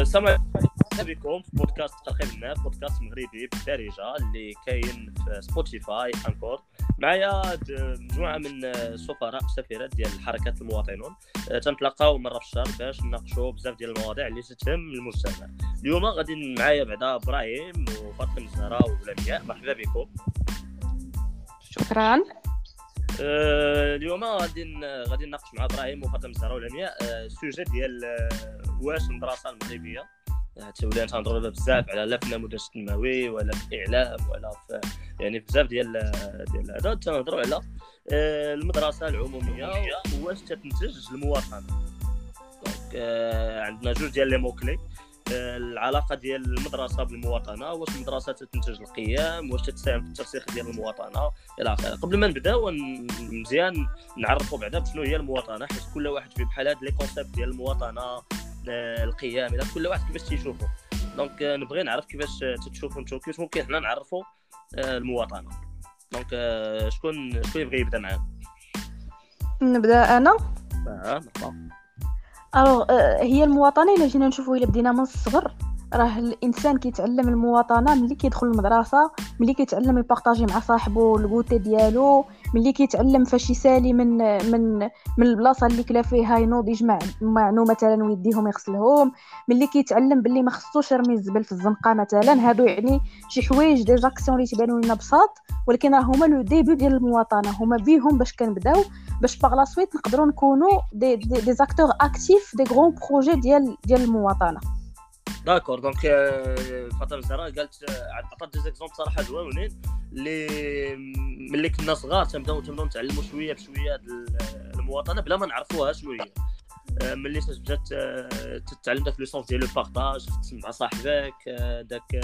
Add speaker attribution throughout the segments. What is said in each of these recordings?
Speaker 1: السلام عليكم في بودكاست ترخيب الناس، بودكاست مغربي بالدارجه اللي كاين في سبوتيفاي انكور. معايا مجموعه من السفراء والسفيرات ديال حركات المواطنون. تنتلاقاو مره في الشهر باش نناقشوا بزاف ديال المواضيع اللي تهم المجتمع. اليوم غادي معايا بعدا ابراهيم وفاطمه الزهراء ولمياء. مرحبا بكم.
Speaker 2: شكرا.
Speaker 1: اليوم غادي نناقش مع ابراهيم وفاطمه الزهراء ولمياء السوجي ديال واش المدرسه المغربيه تولي تنهضروا بزاف على لا في النموذج التنموي ولا في الاعلام ولا في يعني بزاف ديال هذا تنهضروا على المدرسه العموميه واش تنتج المواطنه. دونك عندنا جوج ديال لي موكلي، العلاقه ديال المدرسه بالمواطنه، واش المدرسه تنتج القيم، واش تساهم في الترسيخ ديال المواطنه الى اخره. قبل ما نبداو مزيان نعرفوا بعدا شنو هي المواطنه، حيت كل واحد في بحال هاد لي كونسيبت ديال المواطنه القيم الى كل واحد كيفاش تيشوفوا. دونك نبغي نعرف كيفاش تشوفوا نتوما، كيفاش ممكن حنا نعرفوا المواطنه. دونك شكون يبغي يبدا معانا؟
Speaker 2: نبدا انا.
Speaker 1: مرحبا.
Speaker 2: هي المواطنه الا جينا نشوفوا الا بدينا من الصغر، راه الانسان كيتعلم المواطنه ملي كيدخل المدرسه، ملي كيتعلم يبارطاجي مع صاحبه الكوتي ديالو، ملي كيتعلم فاش يسالي من البلاصه اللي كلا فيها ينوض يجمع معنو مثلا ويديهم يغسلهم، ملي كيتعلم باللي ما خصوش يرمي الزبل في الزنقه مثلا. هادو يعني شي حوايج دي زاكسيون اللي تبانوا لنا بساط، ولكن راه هما لو ديبي ديال المواطنه، هما بيهم باش كنبداو باش باغ لا سويت نقدروا نكونوا دي زاكتور اكتيف دي غران بروجي ديال المواطنه.
Speaker 1: داكور. دونك فاطمه الزهراء قالت عطات دي زيكزامبل صراحه زوينين اللي ملي كنا صغار تنبداو نتعلموا شويه بشويه المواطنه بلا ما نعرفوها شنو هي. ملي بدات تتعلم داك لو سونس ديال لو بارطاج، تسمع صاحبك، داك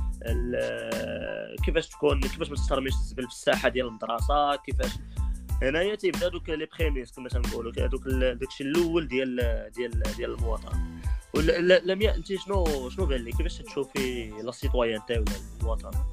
Speaker 1: كيفاش ما ترميش الزبل في الساحه ديال المدرسه، كيفاش هنايا تيبدا دوك لي بريميس كما تنقولوا، داكشي الاول ديال المواطنه. ولا لمياء انت شنو بان لك، كيفاش تشوفي لا سيتويانتي ولا المواطنه؟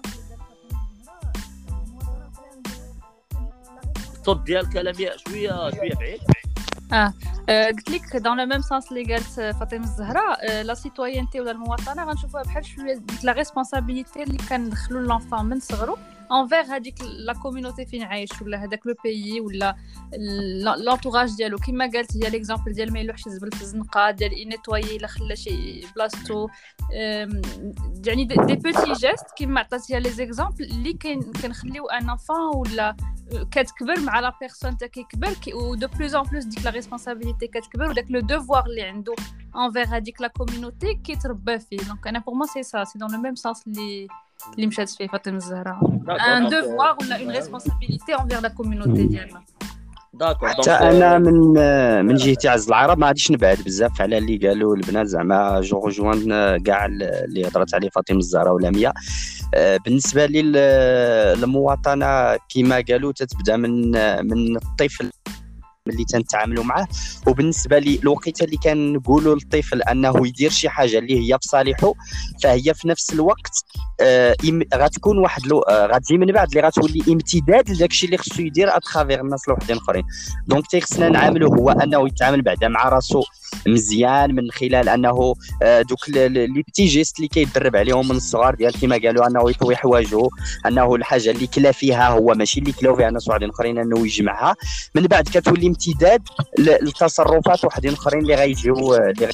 Speaker 1: الصوت ديالك لمياء شويه بعيد.
Speaker 3: قلت لك دون لو ميم سانس اللي قالت فاطمه الزهراء، لا سيتويانتي ولا المواطنه غنشوفوها بحال شويه ديك لا ريسبونسابيلتي اللي كندخلوا لونفون من صغرو انفير هذيك لا كوميونيتي فين عايش ولا هذاك لو بيي ولا لونطوراج ديالو. كما قالت هي ليكزامبل ديال ما يلوحش الزبل في الزنقه، ديال ينيطوي الا خلى شي بلاصتو، يعني دي بوتي جيست كما عطاتيها لي زيكزامبل اللي كنخليو ان انفان ولا كتكبر مع لا بيرسون تا كيكبر و دو بلوز ان بلوس ديك لا ريسبونسابيلتي كتكبر وداك لو دوفوار اللي عنده انفير هذيك لا كوميونيتي كيتربى فيه. دونك انا بور مو سي سا سي دون لو ميم سانس اللي مشات فيه فاطمه الزهراء، ان دوفوار ولا اون ريسبونسابيلتي انفير لا كوميونيتي ديالنا.
Speaker 1: داكور.
Speaker 4: حتى انا من جهتي عز العرب ما غاديش نبعد بزاف على اللي قالوا البنات، زعما جو رجوان كاع اللي هضرت عليه فاطمه الزهراء ولمياء. بالنسبه لي المواطنه كما قالوا تتبدا من الطفل اللي تنتعاملوا معاه. وبالنسبه لي الوقيته اللي كنقولوا للطفل انه يدير شي حاجه اللي هي في صالحه، فهي في نفس الوقت غتكون واحد غتجي من بعد اللي غتولي امتداد لداكشي اللي خصو يدير اترافير الناس الوحدين الاخرين. دونك تيخصنا نعاملو هو انه يتعامل بعدا مع راسو مزيان من خلال انه دوك لي بتي جيست اللي كيدرب عليهم من الصغار، ديال كما قالوا انه يطوي حوايجو، انه الحاجه اللي كلا فيها هو ماشي اللي كلاو فيها ناس وحدين اخرين انه يجمعها. من بعد كتولي امتداد لتصرفات وحدين اخرين اللي غيجيو.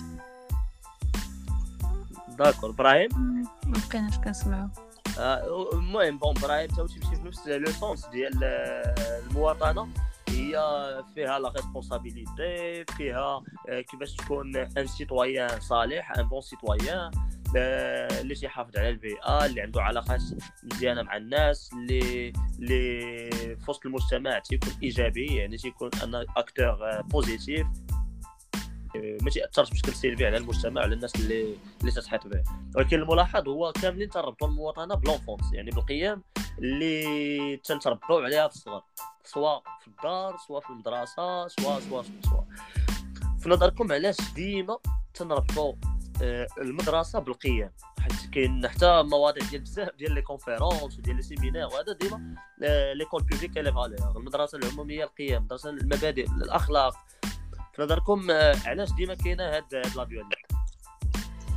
Speaker 1: داكور. ابراهيم
Speaker 3: مابقيناش كنسمعوا.
Speaker 1: المهم ابراهيم تا تمشي في نفس لو سونس ديال المواطنه، هي فيها لا ريسبونسابيلتي، فيها كيفاش تكون ان سيتويان صالح، ان بون سيتويان اللي تيحافظ على البيئه، اللي عنده علاقات مزيانه مع الناس، اللي في وسط المجتمع تيكون ايجابي، يعني تيكون ان اكتور بوزيتيف، ما تاثرش بشكل سلبي على المجتمع وعلى الناس اللي تتحيط به. ولكن الملاحظ هو كاملين تربطوا المواطنه بلونفونس، يعني بالقيم اللي تنتربوا عليها في الصغر، سواء في الدار سواء في المدرسه سواء في نظركم علاش ديما تنربطوا المدرسه بالقيم؟ حيت كاين حتى مواضيع ديال بزاف ديال لي كونفيرونس وديال لي سيمينار، وهذا ديما ليكول بوبليك لي فالور، المدرسه العموميه القيم، المدرسه المبادئ الاخلاق. في نظركم علاش ديما كاينه هاد لا فيولونس؟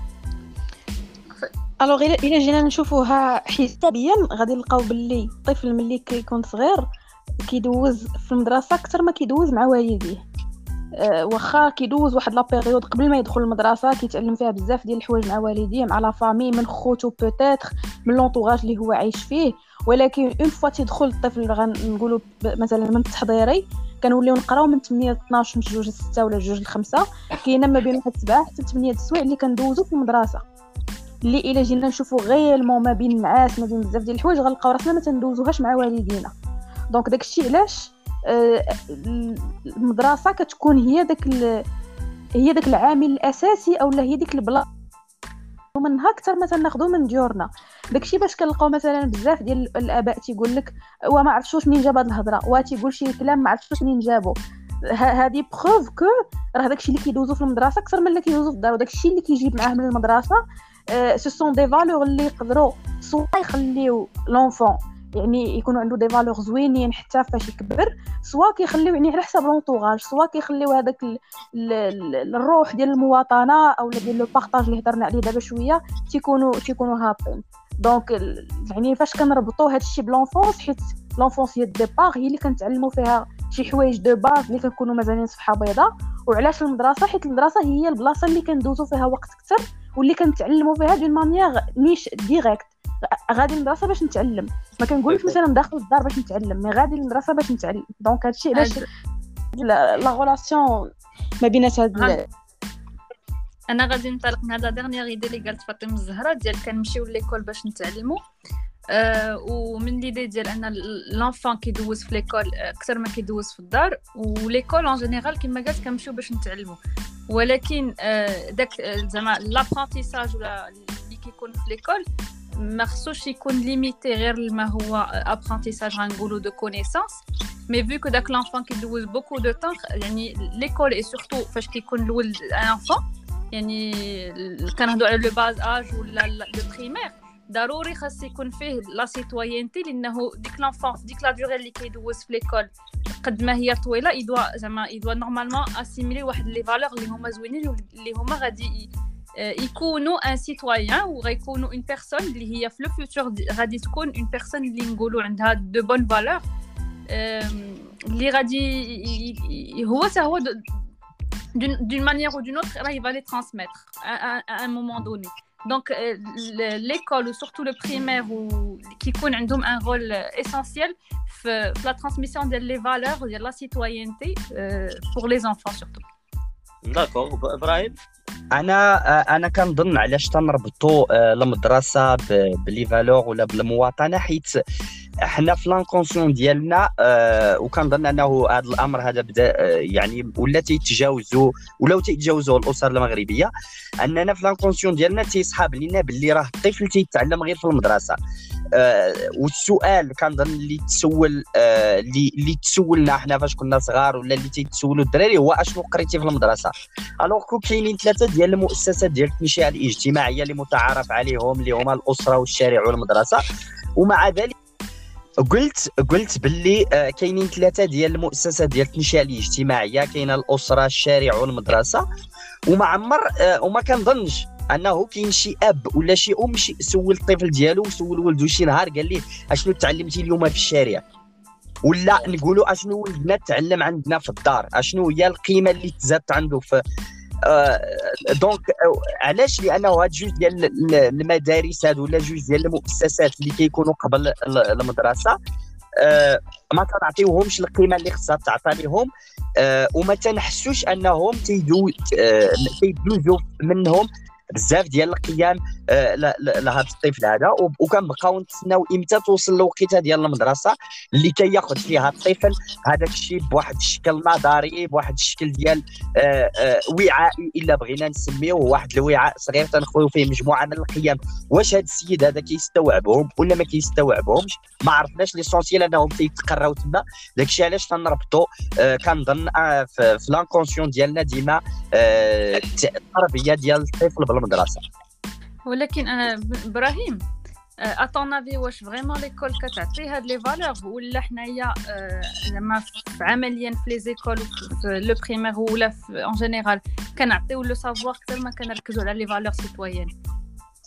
Speaker 2: الوغ الا جينا نشوفوها حسابيا غادي نلقاو باللي الطفل ملي كيكون صغير كيدوز في المدرسه اكثر ما كيدوز مع والديه. واخا كيدوز واحد لا بيريود قبل ما يدخل المدرسه كيتعلم فيها بزاف ديال الحوايج مع والديه، مع لا فامي، من خوتو بوتيتر، من لونطوراج اللي هو عايش فيه. ولكن اون فوا تيدخل الطفل غنقولوا مثلا من التحضيري كنوليو نقراو من 8 ل 12 من 2 ل 6 ولا 2 ل 5. كاينه ما بين واحد 7 حتى 8 السوايع اللي كندوزو في المدرسه، اللي الا جينا نشوفوا غيالمون ما بين النعاس ما بين بزاف ديال الحوايج غنلقاو راسنا ما تندوزوهاش مع والدينا. دونك داكشي علاش المدرسه كتكون هي داك العامل الاساسي اولا هي ديك البلاصه منها اكثر ما تناخذو من ديورنا. داكشي باش كنلقاو مثلا بزاف ديال الاباء تيقول لك وما عرفتش منين جاب هاد الهضره، وتيقول شي كلام ما عرفتش منين جابو. هذه بروف كو راه داكشي اللي كيدوزو في المدرسه اكثر من اللي كيدوزو في الدار، وداكشي اللي كيجيب معاه من المدرسه سو سون دي فالور اللي يقدروا سوا يخليو لونفون يعني يكونوا عنده دي فالور زوينين حتى فاش يكبر، سوا كيخليو يعني على حساب لونطوراج، سوا كيخليو هذاك الروح ديال المواطنه او ديال لو بارطاج اللي هضرنا عليه دابا شويه تيكونوا هابطين. دونك يعني فاش كنربطوا هذا الشيء بلونفونس، حيت لونفونس هي الديبار، هي اللي كنتعلموا فيها شي حوايج دو باز اللي كنكونوا مازالين صفحه بيضاء. وعلاش المدرسه؟ حيت المدرسه هي البلاصه اللي كندوزو فيها وقت اكثر واللي كنتعلموا فيها دون مانيير نيش ديريكت. غادي المدرسه باش نتعلم، ما كنقولش مثلا داخل الدار باش نتعلم، مي غادي المدرسه باش نتعلم. دونك هادشي علاش لا غولاسيون ما بينات هاد
Speaker 3: انا غادي ننطلق من هذا ديرنيير ايدي اللي قالت فاطمه الزهراء ديال كنمشيو ليكول باش نتعلموا. ومن ليدي ديال ان لونفون كيدوز في ليكول اكثر ما كيدوز في الدار، وليكول اون جينيرال كما قالت كنمشيو باش نتعلموا. ولكن داك زعما لابرونتيساج ولا اللي كيكون في ليكول ما خصوش يكون ليميتي غير ما هو ابرونتيساج غنقولوا دو كونيسانس، مي فيو كو داك لونفون كيدوز بوكو دو طون يعني ليكول اي سورتو فاش كيكون الولد ان انفون يعني كنهضروا على لو باز اج ولا لو بريمير، ضروري خاص يكون فيه لا سيتويانتي، لانه ديك لونفون ديك لا دوري اللي كيدوز في ليكول قد ما هي طويله يدوا نورمالمون اسيميلي واحد لي فالور اللي هما زوينين اللي هما غادي يكونوا ان سيتويان وغيكونوا اون بيرسون اللي هي في لو فيوتور غادي تكون اون بيرسون اللي نقولوا عندها دو بون فالور اللي غادي هو d'une manière ou d'une autre là il va les transmettre à un moment donné. Donc l'école ou surtout le primaire qui يكون عندهم un rôle essentiel في la transmission des valeurs de la citoyenneté pour les enfants surtout.
Speaker 1: D'accord. ابراهيم
Speaker 4: انا كنظن علاش تنربطوا المدرسه بلي فالور ولا بالمواطنه، حيت حنا في لانكونسيون ديالنا وكنظن انه هذا الامر هذا بدا يعني ولا تيتجاوزوا الاسر المغربيه، اننا في لانكونسيون ديالنا تيصحاب لينا باللي راه الطفل تيتعلم غير في المدرسه. والسؤال كنظن اللي تسولنا حنا فاش كنا صغار ولا اللي تيتسولوا الدراري هو اشنو قريتي في المدرسه. الوغ كاينين 3 ديال المؤسسات ديال التنشئه الاجتماعيه اللي متعارف عليهم اللي هما الاسره والشارع والمدرسه، ومع ذلك قلت باللي كاينين 3 ديال المؤسسات ديال التنشئه الاجتماعيه، كاينه الاسره الشارع والمدرسه، وما كنظنش انه كاين شي اب ولا شي ام سول الطفل ديالو وسول ولده شي نهار قال ليه اشنو تعلمتي اليوم في الشارع، ولا نقولوا اشنو ولدنا تعلم عندنا في الدار، اشنو هي القيمه اللي تزادت عنده في دونك علاش؟ لانه هاد جوج ديال المدارس هادو ولا جوج ديال المؤسسات اللي كيكونوا قبل المدرسه ما كنعطيوهمش القيمه اللي خصها تعطى لهم، وما تنحسوش انهم تيدوزوا منهم بزاف ديال القيم لهذا الطفل هذا، وكنبقاو نتسناو امتى توصل الوقيته ديال المدرسه اللي كياخذ فيها الطفل هذاك الشيء بواحد الشكل نظري، بواحد الشكل ديال وعائي الا بغينا نسميوه، واحد الوعاء صغير تنخويو فيه مجموعه من القيم. واش هذا السيد هذا كيستوعبهم ولا ما كيستوعبهمش ما عرفناش، ليسونسيال انهم تيتقراو تما. داكشي علاش تنربطوا كنظن في لانكونسيون ديالنا ديما التربيه ديال الطفل بالمدرسه.
Speaker 3: ولكن انا ابراهيم اتونافي واش فريمون ليكول كتعطي هاد لي فالور ولا حنايا زعما عمليا في لي زيكول في لو بريمير ولا ان جينيرال كنعطيو لو سافوار اكثر ما كنركزوا على لي فالور سيتويان؟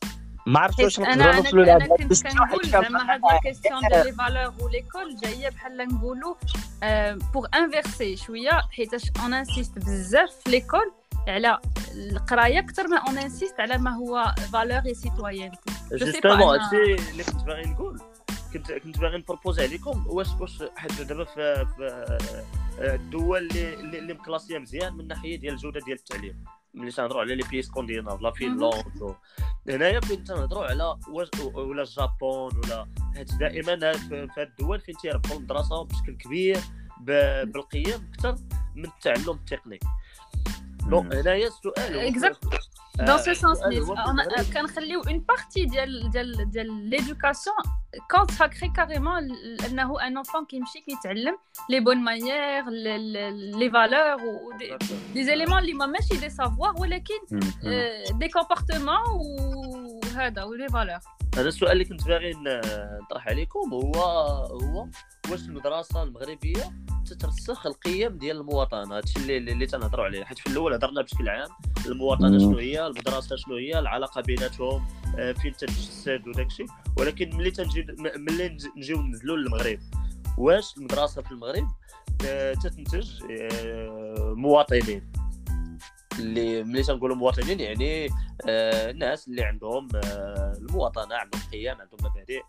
Speaker 4: ما عرفتش واش
Speaker 3: انا
Speaker 4: نقدروا
Speaker 3: انا
Speaker 4: نوصلوا
Speaker 3: انا
Speaker 4: لهذا
Speaker 3: كنت كنقول زعما هاد لا كيسيون ديال لي فالور وليكول جايه بحال نقولوا بوغ انفيرسي شويه، حيتاش اون انسيست بزاف في ليكول على القرايه اكثر ما اون انسيست على ما هو فالور اي سيتويانتي.
Speaker 1: جوستومون هادشي اللي كنت باغي نقول، كنت باغي نبروبوزي عليكم واش حيت دابا في الدول اللي مكلاسيه مزيان من ناحيه ديال الجوده ديال التعليم، ملي تنهضروا على لي بيس سكونديناف لا فنلند هنايا فين تنهضروا على ولا اليابان ولا حيت دائما في هاد الدول فين تيربطوا الدراسه بشكل كبير بالقيم اكثر من التعلم التقني. دونك هنايا السؤال
Speaker 3: dans ce sens كنخليو اون بارتي ديال ليدوكاسيون كونساكري كاريمون انه ان انفون كيمشي كيتعلم لي بون مانيير لي فالور و دي زيليمون اللي ماشي دي سافوار ولكن دي كومبورتمون وهذا ولي فالور.
Speaker 1: هذا السؤال اللي كنت باغي نطرح عليكم هو واش المدرسه المغربيه تترسخ القيم ديال المواطنه؟ هادشي اللي تنهضروا عليه، حيت في الاول هضرنا بشكل عام المواطنه شنو هي، المدرسه شنو هي، العلاقه بيناتهم فين تتجسد وداكشي، ولكن ملي نجيو ننزلوا للمغرب واش المدرسه في المغرب تتنتج مواطنين اللي ملي تنقولوا مواطنين يعني الناس اللي عندهم المواطنه، عندهم قيم، عندهم مبادئ،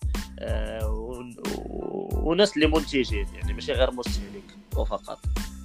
Speaker 1: وناس اللي منتجين يعني ماشي غير مستهلك وفقط.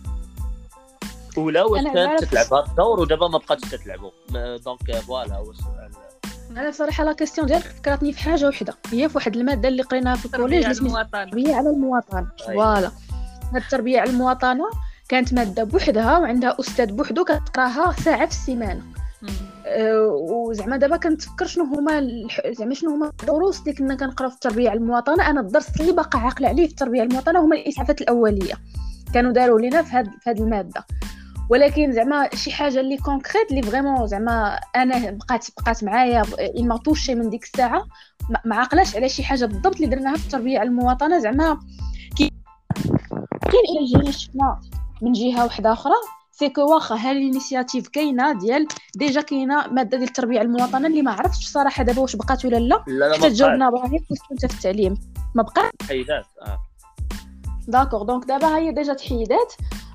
Speaker 1: ولا واش كانت تتلعب هذا الدور ودابا ما بقاتش تتلعبوا؟ دونك فوالا هو السؤال.
Speaker 2: انا صراحه لا كيسيون ديالك فكرتني في حاجه وحده، هي في واحد الماده اللي قريناها في الكوليج اللي اسمها التربيه على المواطنه. فوالا هاد التربيه على المواطنه كانت ماده بوحدها وعندها استاذ بوحدو كتقراها ساعه في السيمانه. وزعما دابا كنتفكر شنو هما الدروس اللي كنا كنقراو في التربيه على المواطنه. انا الدرس اللي باقا عاقله عليه في التربيه على المواطنه هما الاسعافات الاوليه، كانوا داروا لينا في هاد الماده. ولكن زعما شي حاجه اللي كونكريت اللي فريمون زعما انا بقات معايا ما طوشي من ديك الساعه، ما عاقلاش على شي حاجه بالضبط اللي درناها في التربيه على المواطنه. زعما كاين الى جينا شفنا من جهه واحده اخرى سيكو واخا ها الانيشياتيف كاينه ديال ديجا كاينه ماده ديال التربيه على المواطنه اللي ما عرفتش صراحه دابا واش بقات ولا لا. حتى تجاوبنا ابراهيم كنت في التعليم ما بقى
Speaker 1: تحيدات.
Speaker 2: داكور دونك دابا هي ديجا تحيدات.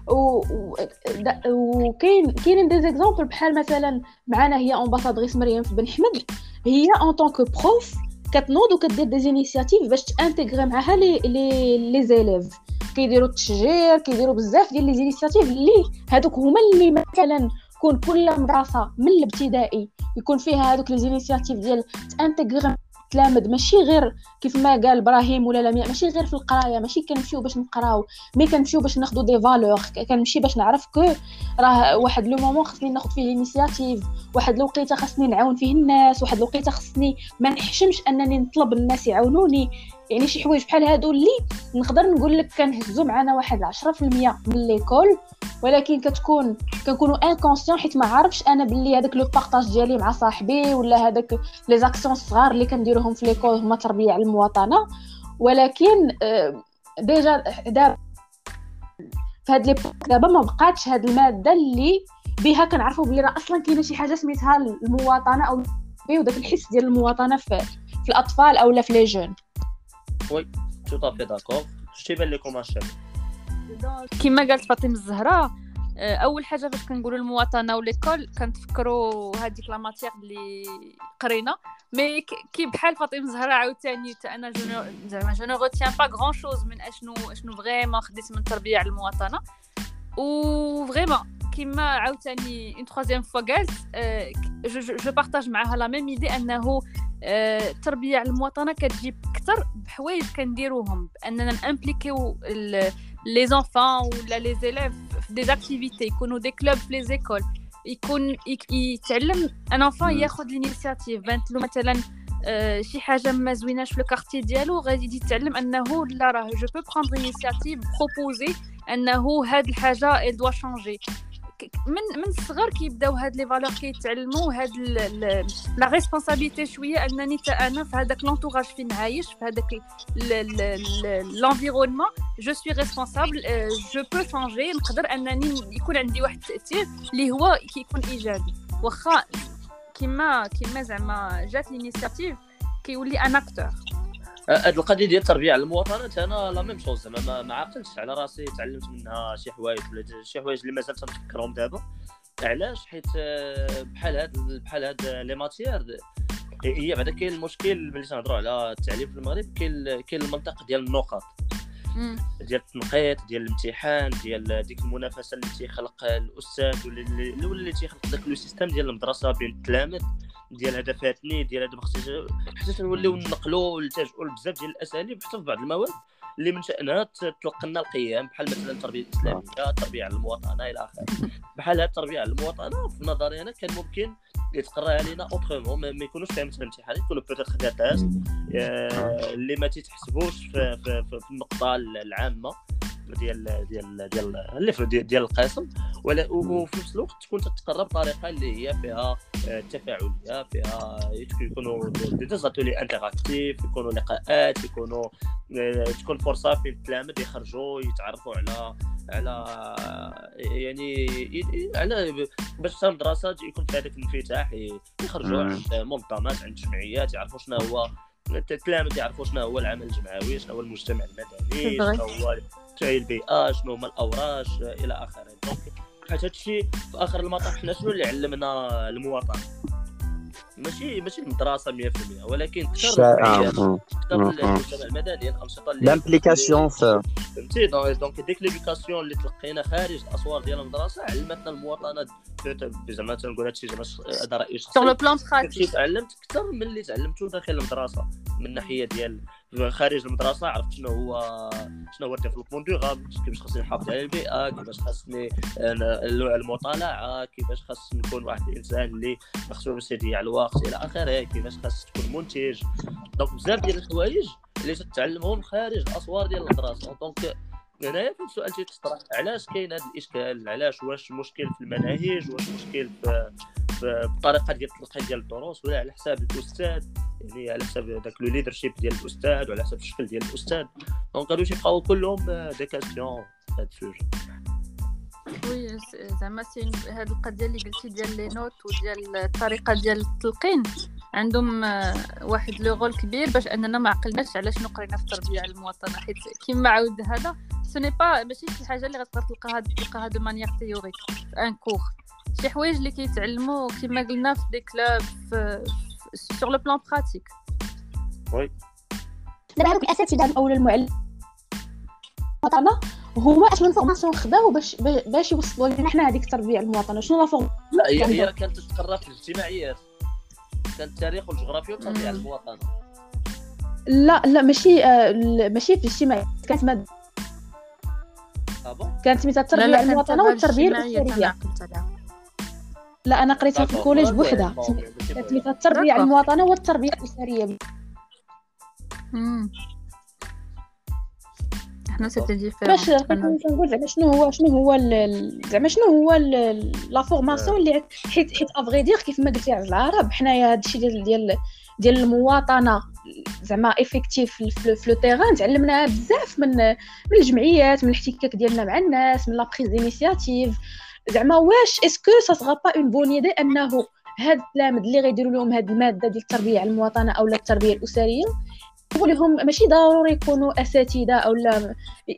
Speaker 2: وكاين دي زيكزامبل بحال مثلا معنا هي امباسادريس مريم في بن حمد، هي ان طونك بروف كتنوض وكدير دي انيشياتيف باش تانتيغري معاها لي زيليف، كيديروا التشجير، كيديروا بزاف ديال لي انيشياتيف اللي هادوك هما اللي مثلا كون كل مدرسه من الابتدائي يكون فيها هادوك لي انيشياتيف ديال تانتيغري تلامد، ماشي غير كيف ما قال ابراهيم ولا لمياء، ماشي غير في القرايه، ماشي كنمشيو باش نقراو، مي كنمشيو باش ناخذ دي فالور، كنمشي باش نعرف كو راه واحد لو مومون خصني ناخذ فيه انيشياتيف، واحد الوقيته خصني نعاون فيه الناس، واحد الوقيته خصني ما نحشمش انني نطلب الناس يعاونوني. يعني شي حوايج بحال هادو اللي نقدر نقول لك كنهزو معنا واحد 10% من ليكول، ولكن كنكونوا انكونسيون حيت ما عارفش انا باللي هذاك لو بارطاج ديالي مع صاحبي ولا هذاك لي زاكسيون صغار اللي كنديروهم في ليكول هما تربيه على المواطنه. ولكن ديجا دابا في هاد لي دابا ما بقاتش هاد الماده اللي بها كنعرفوا بلي راه اصلا كاينه شي حاجه سميتها المواطنه او وداك الحس ديال المواطنه في الاطفال او لا في لي جون.
Speaker 1: وي تو طافي داكور. شتي بان لكم الشباب
Speaker 3: كما قالت فاطمه الزهراء، اول حاجه فاش كنقولوا المواطنه وليكول كنتفكروا هذيك لا ماتيير اللي قرينا، مي كي بحال فاطمه الزهراء عاوتاني انا جو نو روتيان با غران شوز من اشنو فريمون خديت من التربيه على المواطنه. و فريمون كما عاوتاني اون ترويزيام فوا قالت جو بارطاج معها لا ميم ايدي انه التربيه على المواطنه كتجيب اكثر بحوايج كنديروهم باننا نامبليكيو لي زونفون ولا لي زيليف في دي اكتيفيتي، يكونوا دي كلوب في لي زيكول، يكون يتعلم ان انفون ياخذ لينيسياتيف. بانت له مثلا شي حاجه ما زويناش في الكارتي ديالو غادي يتعلم انه لا راه جو بو بروندر انيسياتيف بروبوزي انه هاد الحاجه اي دوا شانجي. من الصغر كيبداو هاد لي فالور كيتعلموا هاد لا ريسبونسابيلتي شويه انني انا في هذاك لونطوراج فين عايش في هذاك لونفيرونمون جو سوي ريسبونسابل جو بو شانجي، نقدر انني يكون عندي واحد التاثير اللي هو كيكون ايجابي. واخا كيما زعما جات لينيسياتيف كيولي ان اكتور.
Speaker 1: هاد القضيه ديال التربيه على المواطنات انا لا ميم شوز زعما ما عقلتش على راسي تعلمت منها شي حوايج ولا شي حوايج اللي مازال تنفكرهم دابا. علاش؟ حيت بحال هاد لي ماتيير هي بعدا كاين المشكل ملي تنهضروا على التعليم في المغرب. كاين المنطق ديال النقط ديال التنقيط ديال الامتحان ديال ديك المنافسه اللي تيخلق الاستاذ ولا اللي تيخلق داك لو سيستيم ديال المدرسه بين التلاميذ ديال هدفاتني ديال هذا خصنا حتى نوليو نقلوا ونلتجئوا لبزاف ديال الاساليب حتى في بعض المواد اللي من شأنها تلقنا القيم بحال مثلا التربيه الاسلاميه، التربيه على المواطنه الى اخره. بحال هاد التربيه على المواطنه في نظري انا كان ممكن يتقرا علينا اوترومون، ما يكونوش فيها مثلا امتحانات، يكونوا بوتيتر دي تيست اللي ما تيتحسبوش في النقطه العامه ديال القسم، وفي نفس الوقت تكون تتقرا بطريقه اللي هي فيها تفاعليه، فيها يكونوا دي زاتولي انتراكتيف، يكونوا لقاءات، تكون فرصه في التلاميذ يخرجوا يتعرفوا على يعني على باش المدرسه يكون فيها داك الانفتاح، يخرجوا عند منظمات عند جمعيات يعرفوا شنو هو التلاميذ، يعرفوا شنو هو العمل الجمعوي، شنو هو المجتمع المدني، شنو هو البيئه، شنو هما الاوراش الى اخره. دونك حيت هادشي في اخر المطاف حنا شنو اللي علمنا المواطن؟ ماشي المدرسه 100%، ولكن اكثر المجتمع المدني، الانشطه اللي
Speaker 4: لامبليكاسيون
Speaker 1: فهمتي. دونك ديك ليدوكاسيون اللي تلقينا خارج الاسوار ديال المدرسه علمتنا المواطنه زعما تنقول هادشي زعما هذا راي شخصي.
Speaker 3: سور لو بلان براتيك
Speaker 1: تعلمت اكثر من اللي تعلمته داخل المدرسه من ناحيه ديال خارج المدرسه. عرفت شنو هو الديفلوبمون دوغابل، كيفاش خاصني نحافظ على البيئه، كيفاش خاصني المطالعه، كيفاش خاص نكون واحد الانسان اللي خصو يضيع الوقت الى اخره، كيفاش خاص تكون منتج. دونك بزاف ديال الحوايج اللي تتعلمهم خارج الاسوار ديال المدرسه. دونك هنايا فين السؤال تيطرح، علاش كاين هذا الاشكال؟ علاش؟ واش مشكل في المناهج، واش مشكل في الطريقه ديال التلقين ديال الدروس، ولا على حساب الاستاذ، يعني على حساب داك لو ليدرشيب ديال الاستاذ وعلى حساب الشكل ديال الاستاذ. دونك هادو تيبقاو كلهم دي كاستيون هاد السوجي.
Speaker 3: وي زعما هاد القضيه اللي قلتي ديال لي نوت وديال الطريقه ديال التلقين عندهم واحد لو رول كبير باش اننا ما عقلناش على شنو قرينا في التربيه على المواطنه. حيت كيما عاود هذا سوني با ماشي شي حاجه اللي غتقدر تلقاها دو مانيير تيوريك في ان كور. شي حوايج اللي كيتعلموا كيما قلنا في دي كلاب سور لو بلان براتيك.
Speaker 1: وي
Speaker 2: دابا هذوك الاساتذه او المعلم المواطنه هما اش من فورماسيون خداو باش يوصلوا لنا حنا هذيك التربيه على المواطنه؟ شنو لا فورم؟
Speaker 1: لا هي كانت تتقرا في الاجتماعيات، كان التاريخ والجغرافيا والتربيه على المواطنه.
Speaker 2: لا ماشي في الاجتماعيات، كانت ماده كانت سميتها التربيه على المواطنه والتربيه الاسريه. لا انا قريتها في الكوليج بوحدها، كانت سميتها التربيه على المواطنه والتربيه الاسريه.
Speaker 3: احنا سيتي ديفيرون
Speaker 2: باش نقول زعما شنو هو لا فورماسيون اللي حيت افغي دير كيف ما قلتي على العرب حنايا هادشي ديال المواطنه زعما افيكتيف في لو تيران تعلمناها بزاف من الجمعيات، من الاحتكاك ديالنا مع الناس، من لا بريز دينيسياتيف. زعما واش اسكو سا سغا با اون بون ايدي انه هاد التلاميذ اللي غيديروا لهم هاد الماده ديال التربيه على المواطنه او التربيه الاسريه لهم ماشي ضروري يكونوا اساتذه او لا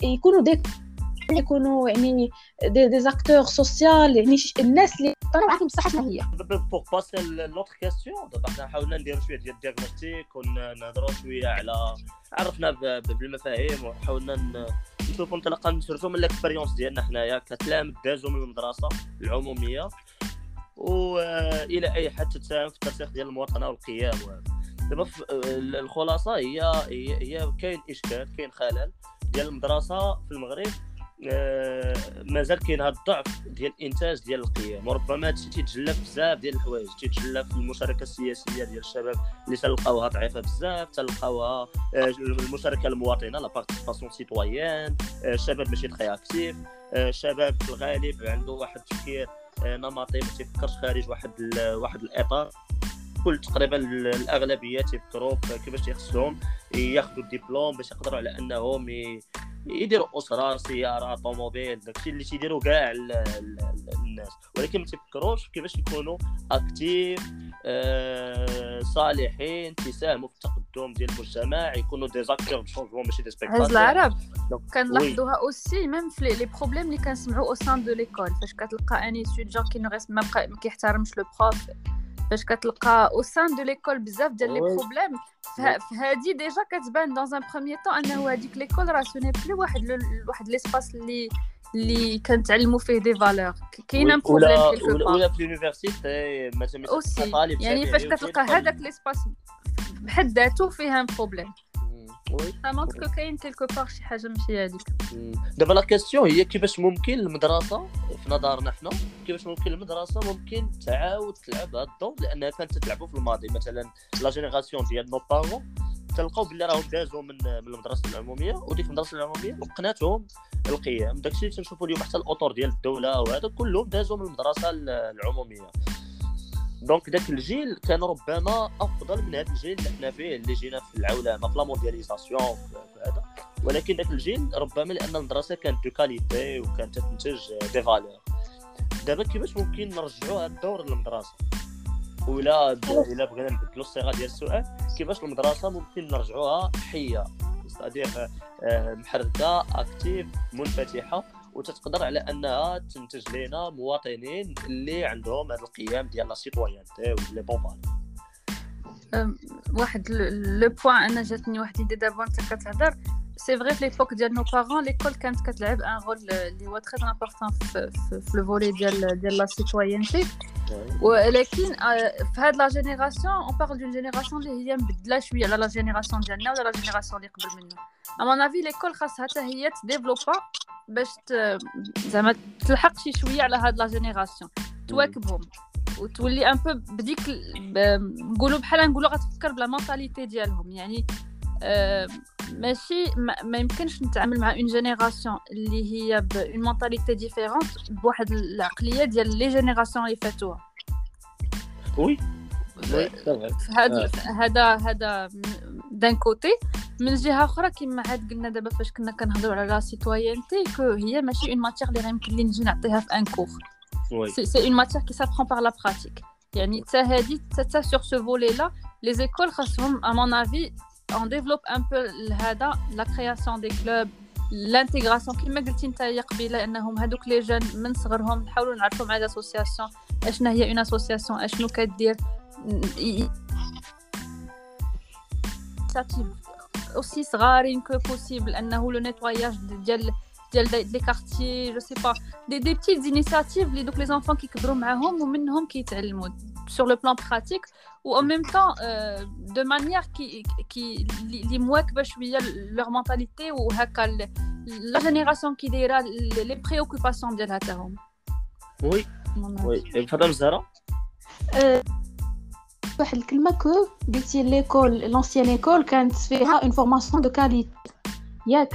Speaker 2: يكونوا يعني دي زاكتور سوسيال، يعني الناس اللي طلعوا عارفين بصح شنو هي.
Speaker 1: بوغ باسي لوطر كاستيون دابا حنا حاولنا نديروا شويه ديال الدياغنوستيك ونهضروا شويه على عرفنا بالمفاهيم، وحاولنا نشوفوا نتلقى نسردوا من الاكسبيريونس ديالنا حنايا كتلاميذ دازوا من المدرسه العموميه والى اي حد تساهم في الترسيخ ديال المواطنه والقيم. دابا الخلاصه هي كاين اشكال، كاين خلل ديال المدرسه في المغرب. مازال كاين هذا الضعف ديال الانتاج ديال القيم، وربما هادشي تيتجلى في بزاف ديال الحوايج، تيتجلى في المشاركه السياسيه ديال الشباب اللي تلقاوها ضعيفه بزاف، تلقاوها المشاركه المواطنه لا بارتيسيباسيون سيتويان، الشباب ماشي تري اكتيف، الشباب في الغالب عنده واحد التفكير نمطي ما تيفكرش خارج واحد الاطار. كل تقريبا الاغلبيه تيفكروا كيفاش يخصهم ياخذوا الدبلوم باش يقدروا على انهم يديروا اسره، سياره، طوموبيل، داكشي اللي تيديروا كاع الناس، ولكن ما تيفكروش كيفاش يكونوا اكتيف صالحين تساهموا في التقدم ديال المجتمع، يكونوا دي زاكتور دو شونجمون ماشي دي سبيكتاتور.
Speaker 3: عز العرب كنلاحظوها اوسي ميم في لي بروبليم اللي كنسمعوا او سان دو ليكول، فاش كتلقى اني ستوديون كي نو ما كيحترمش لو بروف، فاش كتلقى او سان دو ليكول بزاف ديال لي بروبليم، فهادي ديجا كتبان دون ان بروميير طون انه هذيك ليكول راه سوني بلي واحد ليسباس اللي كنتعلموا فيه دي فالور، كاين ان بروبليم كيلكو بار
Speaker 1: ولا في لونيفرسيتي مثلا
Speaker 3: طالب، يعني فاش كتلقى هذاك ليسباس بحد ذاته فيه ان بروبليم. مونطر كاين كيلكو بار شي حاجه ماشي هذيك.
Speaker 1: دابا لا كيسيون هي كيفاش ممكن المدرسه في نظرنا حنا كيفاش ممكن المدرسه ممكن تعاود تلعب هذا الدور، لانها كانت تلعبوا في الماضي. مثلا لا جينيراسيون ديال نو بارون تلقاو بلي راهم دازوا من المدرسه العموميه، وديك المدرسه العموميه وقناتهم القيم. داكشي اللي تنشوفوا اليوم حتى الاطر ديال الدوله وهذا كلهم دازوا من المدرسه العموميه. دونك داك الجيل كان ربما افضل من هذا الجيل اللي حنا فيه، اللي جينا في العولمه في لا موندياليزاسيون هذا، ولكن داك الجيل ربما لان المدرسه كانت دو كاليتي وكانت تنتج دي فالور. دابا كيفاش ممكن نرجعوا هذا الدور للمدرسه؟ ولا الا بغينا نبدلوا الصيغه ديال السؤال، كيفاش المدرسه ممكن نرجعوها حيه، ستادير محركه اكتيف منفتحه وتتقدر على انها تنتج لنا مواطنين اللي عندهم هذه القيم ديال لا سيتويانتي ولي بون فالور.
Speaker 3: واحد لو بوين انا جاتني واحد ليدي دابا انت كتهضر، سي فري في ليبوك ديال نو بارون ليكول كانت كتلعب ان رول اللي هو تري امبورطون في لو فولي ديال لا سيتويانتي، ولكن في هاد لا جينيراسيون اون بارل دون جينيراسيون اللي هي مبدله شويه على لا جينيراسيون ديالنا ولا لا جينيراسيون اللي قبل منا. ا مون افي ليكول خاصها حتى هي تديفلوبا باش زعما تلحق شي شويه على هاد لا جينيراسيون، تواكبهم وتولي ان بو بديك نقولوا بحال نقولوا غتفكر بلا مونطاليتي ديالهم. يعني ماشي ما يمكنش نتعامل مع اون جينيراسيون اللي هي بون مونطاليتي ديفيرونت بواحد العقليه ديال لي جينيراسيون اللي فاتوها.
Speaker 1: وي
Speaker 3: هذا دان كوتي. من جهه اخرى كما عاد قلنا دابا فاش كنا كنهضروا على لا سيتويانتي كو هي ماشي اون ماتير اللي غيمكن لي نجي نعطيها في ان كور، سي اون ماتير كي سابرون بار لا براتيك. يعني حتى هادي حتى سور سو فولي لا لي زيكول خاصهم ا مون افي on développe un peu هذا la création des clubs l'intégration كما قلتي نتايا قبيله انهم هذوك لي جون من صغرهم نحاولوا نعرفوا مع الاسوسياسيون اشنا هي اون اسوسياسيون اشنو كدير initiatives aussi صغارين que possible انه لو نيتواياج ديال لي كارتيي جو سي با دي بيتيت انيشياتيف اللي دوك لي زونفون كيكبروا معاهم ومنهم كيتعلموا sur le plan pratique ou en même temps de manière qui li مواكبه شويه leur mentalité و هكا la génération qui دايره les préoccupations ديالها تاهم.
Speaker 1: وي فاطمه الزهراء
Speaker 2: واحد الكلمه كو قلتي ليكول لونسيان ايكول كانت فيها اون فورماسيون دو كاليتي ياك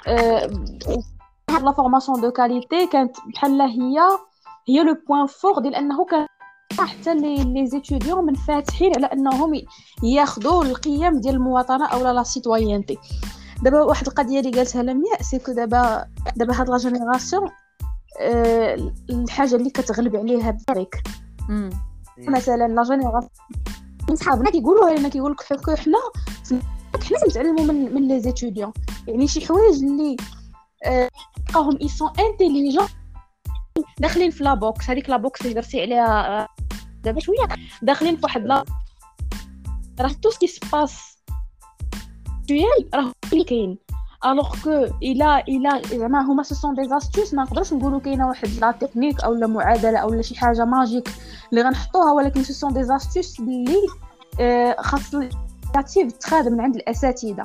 Speaker 2: لا فورماسيون دو كاليتي كانت بحال هي لو بوين فور ديال انه كان حتى لي زيتوديون منفتحين على انهم ياخذوا القيم ديال المواطنه او لا سيتويانتي. دابا واحد القضيه اللي قالتها لمياء سي كو دابا هاد لا جينيراسيون الحاجه اللي كتغلب عليها بزاف مثلا لا جينيراسيون صحابنا كيقولوا لنا كيقول لك حنا كنتعلموا من لي زيتوديون، يعني شي حوايج اللي لقاهم اي سون انتيليجون داخلين في لا بوكس. هذيك لا بوكس اللي درتي عليها دابا شويه داخلين في واحد لا راه تو سكي سباس ديال راه اللي كاين الوغ كو الا زعما هما سو سون دي استوس ما نقدرش نقولوا كاينه واحد لا تكنيك او لا معادله او لا شي حاجه ماجيك اللي غنحطوها، ولكن سو سون دي استوس اللي خاص الانيشيتيف تخاد من عند الاساتذه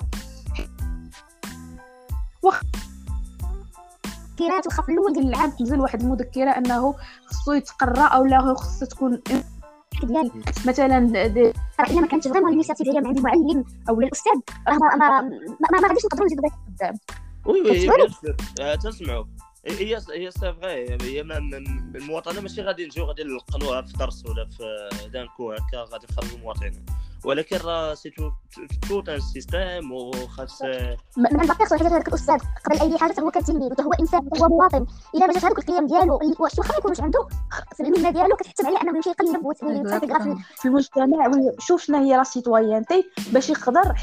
Speaker 2: كيرات وخا في الاول ديال العام تنزل واحد المذكره انه خصو يتقرا او لا خصو تكون ديال مثلا الا ما كانتش فريمون الانيشيتيف هي من عند المعلم او الاستاذ راه ما غاديش نقدروا نزيدوا قدام.
Speaker 1: وي تنسمعوا هي سي فغي. هي المواطنه ماشي غادي نجيو غادي نلقنوها في درس ولا في دانكو هكا غادي نخرجوا المواطنين، ولكن راه سي توت ان سيستيم وخاص
Speaker 5: من بعد كيخصو هذاك الاستاذ قبل اي حاجه هو كتلميذ وهو انسان هو مواطن. الا ما جاش هذوك القيم ديالو واش واخا ما يكونوش عنده في المهنه ديالو كتحتم عليه انه يمشي يقلب ويتفكر
Speaker 2: في المجتمع ويشوف شنو هي لا سيتويانتي باش يقدر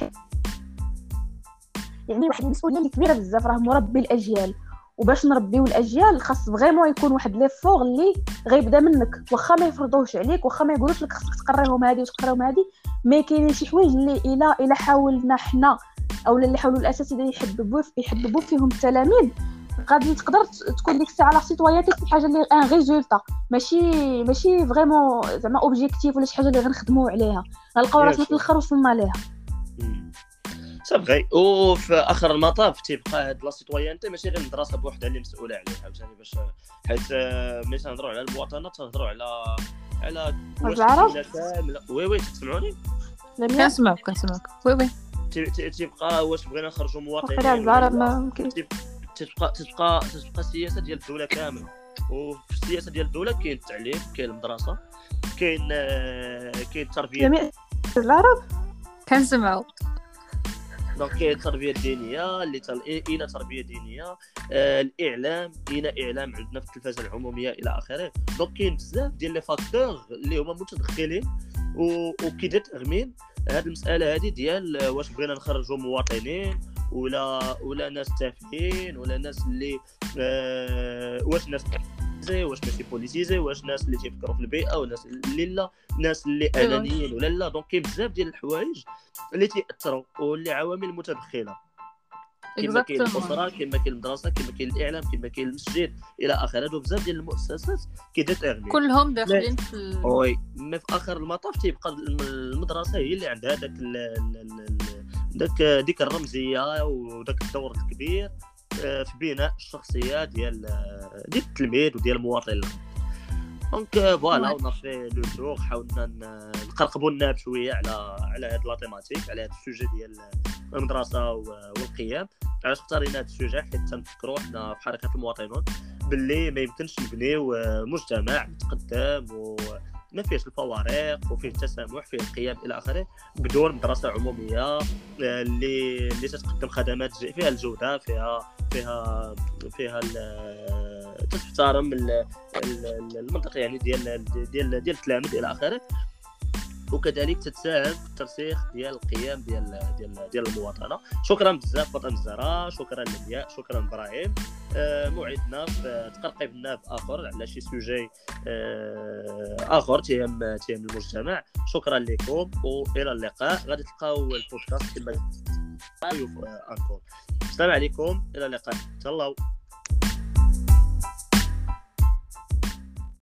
Speaker 2: يعني واحد المسؤوليه اللي كبيره بزاف، راه مربي الاجيال. وباش نربيو الاجيال خاص فغيمون يكون واحد لي فور اللي غيبدا منك، واخا ما يفرضوهش عليك، واخا ما يقولوش لك خصك تقريهم هذه وتقريهم هذه. ما كاينين شي حوايج اللي الا حاولنا حنا او اللي حاولوا الاساتذه يحببوا فيهم التلاميذ غادي تقدر تكون ديك الساعه لا سيتويانتي شي حاجه اللي ان ريزولتا ماشي فريمون زعما اوبجيكتيف ولا شي حاجه اللي غنخدموا عليها غنلقاو راسنا في الاخر وصلنا ليها.
Speaker 1: صافي. وفي اخر المطاف تيبقى هاد لا سيتويانتي ماشي غير المدرسه بوحدها اللي مسؤوله عليها عاوتاني، باش حيت ملي تنهضروا على المواطنه تنهضروا على
Speaker 2: العرب.
Speaker 1: وي تسمعوني؟
Speaker 3: كنسمعك وي
Speaker 1: تيبقى واش بغينا نخرجوا مواطنين
Speaker 2: العرب ما ممكن
Speaker 1: تبقى السياسه ديال الدوله كامله. وفي السياسه ديال الدوله كاين التعليم، كاين المدرسه، كاين التربيه.
Speaker 2: جميع العرب
Speaker 3: كنسمعوا.
Speaker 1: دونك كاين التربيه الدينيه اللي الى تربيه دينيه، الاعلام الى اعلام عندنا في التلفازه العموميه الى اخره. دونك كاين بزاف ديال لي فاكتور اللي هما متدخلين وكيديتيرمين هذه المساله هذه ديال واش بغينا نخرجوا مواطنين ولا ناس تافهين ولا ناس اللي واش ناس واش ماشي بوليتيزي، واش ناس اللي تيفكروا في البيئه وناس اللي لا، ناس اللي انانيين ولا لا. دونك كاين بزاف ديال الحوايج اللي تاثروا واللي عوامل متدخله، كما كاين الاسره، كما كاين المدرسه، كما كاين الاعلام، كما كاين المسجد الى اخره. هادو بزاف ديال المؤسسات كيديتيرمين
Speaker 3: كلهم داخلين في
Speaker 1: وي. ما في اخر المطاف تيبقى المدرسه هي اللي عندها ديك الرمزيه وداك الدور الكبير في بناء الشخصيه ديال التلميذ وديال المواطن. دونك فوالا ونافي لو جور حاولنا نقرقبوا الناب شويه على هاد لا تيماتيك، على هاد السوجي ديال المدرسه والقيم. علاش اختارينا هاد السوجي؟ حيت تنفكروا حنا في حركه المواطنون باللي ما يمكنش نبنيو مجتمع متقدم وما فيهش الفوارق وفيه التسامح فيه القيم الى اخره بدون مدرسه عموميه اللي تقدم خدمات فيها الجوده، فيها تحترم المنطق يعني ديال التلاميذ الى اخره، وكذلك تتساهم في الترسيخ ديال القيم ديال المواطنه. شكرا بزاف فاطمه الزهراء، شكرا لمياء، شكرا ابراهيم. موعدنا في تقرقب الناب اخر على شي سوجي اخر تهم المجتمع. شكرا لكم والى اللقاء. غادي تلقاو البودكاست كما انكور. السلام عليكم، الى اللقاء، تهلاو.